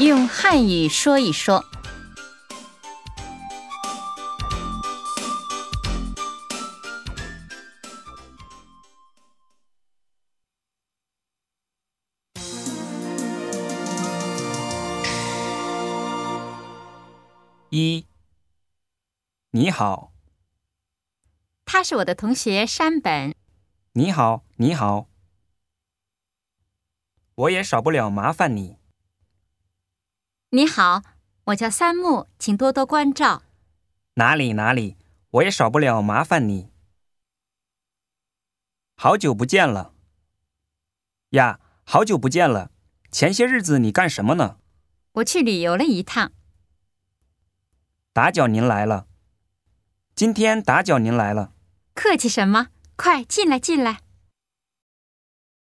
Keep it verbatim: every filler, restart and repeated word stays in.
用汉语说一说。 一，你好。 他是我的同学山本。 你好，你好。我也少不了麻烦你。 你好，我叫三木，请多多关照。 哪里哪里，我也少不了麻烦你。好久不见了。呀，好久不见了。前些日子你干什么呢？ 我去旅游了一趟。 打搅您来了。今天打搅您来了。 客气什么？快进来进来。